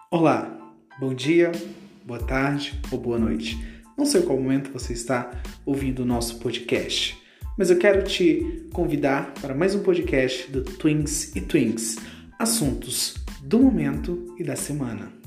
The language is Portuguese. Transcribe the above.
Olá, bom dia, boa tarde ou boa noite. Não sei qual momento você está ouvindo o nosso podcast, mas eu quero te convidar para mais um podcast do Twins e Twinks, assuntos do momento e da semana.